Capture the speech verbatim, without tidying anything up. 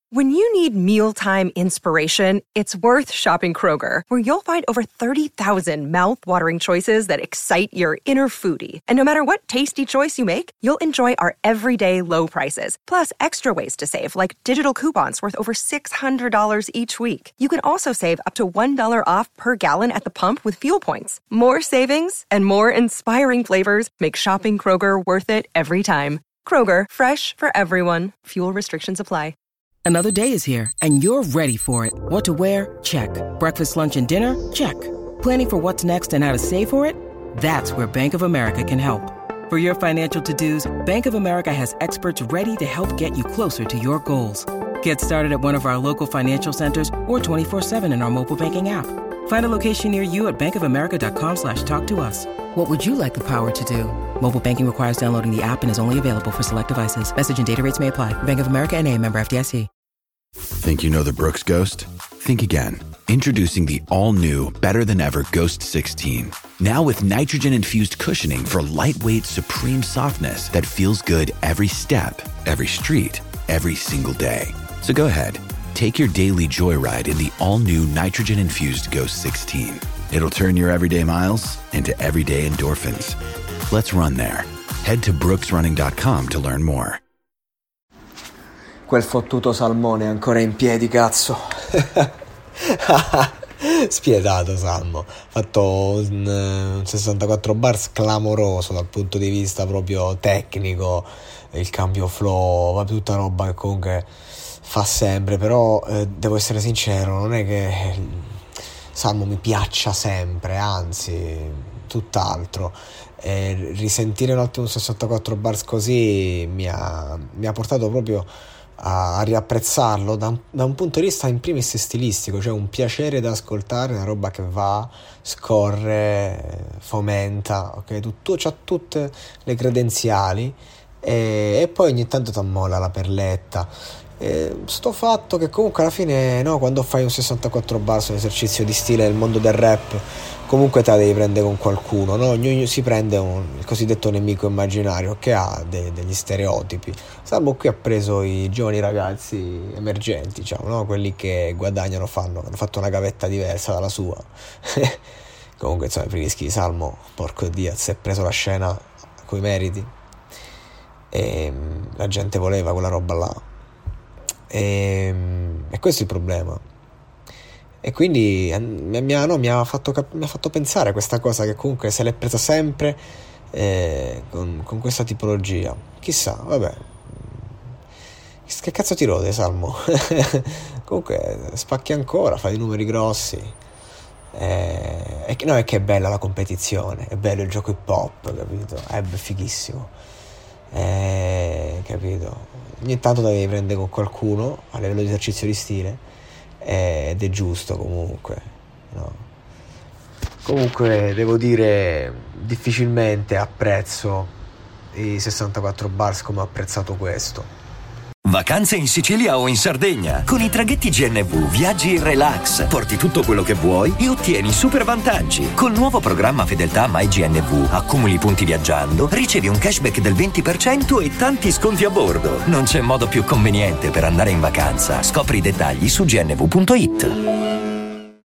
When you need mealtime inspiration, it's worth shopping Kroger, where you'll find over thirty thousand mouth-watering choices that excite your inner foodie. And no matter what tasty choice you make, you'll enjoy our everyday low prices, plus extra ways to save, like digital coupons worth over six hundred dollars each week. You can also save up to one dollar off per gallon at the pump with fuel points. More savings and more inspiring flavors make shopping Kroger worth it every time. Kroger, fresh for everyone. Fuel restrictions apply. Another day is here, and you're ready for it. What to wear? Check. Breakfast, lunch, and dinner? Check. Planning for what's next and how to save for it? That's where Bank of America can help. For your financial to-dos, Bank of America has experts ready to help get you closer to your goals. Get started at one of our local financial centers or twenty-four seven in our mobile banking app. Find a location near you at bankofamerica.com slash talk to us. What would you like the power to do? Mobile banking requires downloading the app and is only available for select devices. Message and data rates may apply. Bank of America N A, member F D I C. Think you know the Brooks Ghost? Think again. Introducing the all-new, better-than-ever Ghost sixteen. Now with nitrogen-infused cushioning for lightweight, supreme softness that feels good every step, every street, every single day. So go ahead, take your daily joyride in the all-new nitrogen-infused Ghost sixteen. It'll turn your everyday miles into everyday endorphins. Let's run there. Head to brooks running dot com to learn more. Quel fottuto Salmone è ancora in piedi, cazzo. Spietato Salmo. Fatto un, un sessantaquattro bars clamoroso dal punto di vista proprio tecnico. Il cambio flow, ma tutta roba che comunque fa sempre. Però eh, devo essere sincero, non è che Salmo mi piaccia sempre, anzi tutt'altro. E risentire un attimo un sessantaquattro bars così mi ha, mi ha portato proprio a riapprezzarlo da un, da un punto di vista in primis stilistico, cioè un piacere da ascoltare, una roba che va, scorre, fomenta, ok, tutto, c'ha tutte le credenziali e, e poi ogni tanto t'ammola la perletta. E sto fatto che comunque alla fine, no, quando fai un sessantaquattro bars, un esercizio di stile nel mondo del rap, comunque te la devi prendere con qualcuno, no? Ognuno si prende un, il cosiddetto nemico immaginario che ha de, degli stereotipi. Salvo qui ha preso i giovani ragazzi emergenti, diciamo, no? Quelli che guadagnano, fanno, hanno fatto una gavetta diversa dalla sua. Comunque insomma, per i rischi di Salmo, porco Dio, si è preso la scena coi meriti e la gente voleva quella roba là. E, e questo è il problema, e quindi mi ha, no, mi ha fatto cap- mi ha fatto pensare a questa cosa, che comunque se l'è presa sempre eh, con, con questa tipologia. Chissà, vabbè, che cazzo ti rode Salmo? Comunque spacchi ancora, fai i numeri grossi, eh, e, no, è che è bella la competizione, è bello il gioco hip hop, capito? È fighissimo, eh, capito? Ogni tanto la devi prendere con qualcuno a livello di esercizio di stile, eh, ed è giusto comunque, no? Comunque devo dire, difficilmente apprezzo i sessantaquattro bars come ho apprezzato questo. Vacanze in Sicilia o in Sardegna. Con i traghetti G N V viaggi in relax, porti tutto quello che vuoi e ottieni super vantaggi. Col nuovo programma Fedeltà MyGNV accumuli punti viaggiando, ricevi un cashback del venti per cento e tanti sconti a bordo. Non c'è modo più conveniente per andare in vacanza. Scopri i dettagli su gnv punto it.